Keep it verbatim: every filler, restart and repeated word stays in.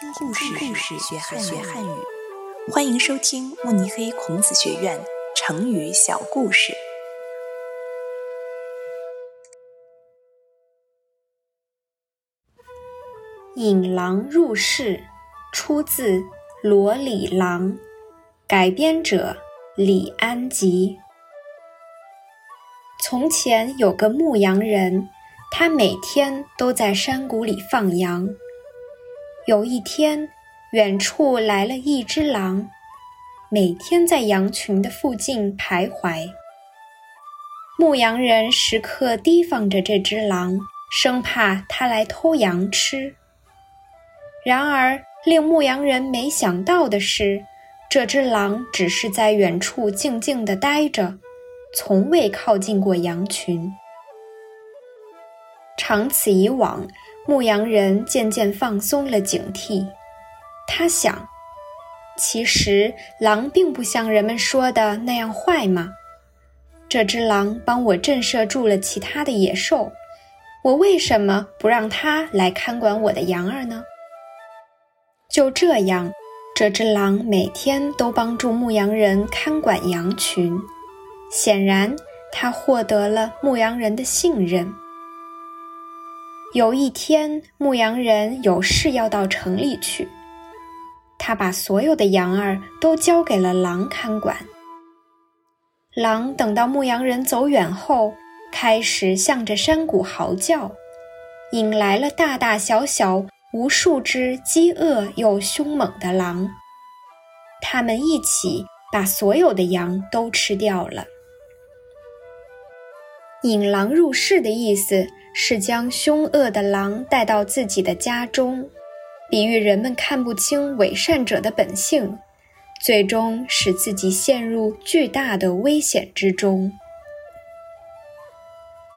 听故事，故事学汉学汉语。欢迎收听慕尼黑孔子学院成语小故事。 引狼入室，出自《罗里郎》，改编者李安吉。从前有个牧羊人，他每天都在山谷里放羊。有一天，远处来了一只狼，每天在羊群的附近徘徊。牧羊人时刻提防着这只狼，生怕它来偷羊吃。然而，令牧羊人没想到的是，这只狼只是在远处静静地待着，从未靠近过羊群。长此以往，牧羊人渐渐放松了警惕。他想，其实狼并不像人们说的那样坏嘛。这只狼帮我震慑住了其他的野兽，我为什么不让它来看管我的羊儿呢？就这样，这只狼每天都帮助牧羊人看管羊群。显然，他获得了牧羊人的信任。有一天，牧羊人有事要到城里去，他把所有的羊儿都交给了狼看管。狼等到牧羊人走远后，开始向着山谷嚎叫，引来了大大小小无数只饥饿又凶猛的狼。它们一起把所有的羊都吃掉了。引狼入室的意思是将凶恶的狼带到自己的家中，比喻人们看不清伪善者的本性，最终使自己陷入巨大的危险之中。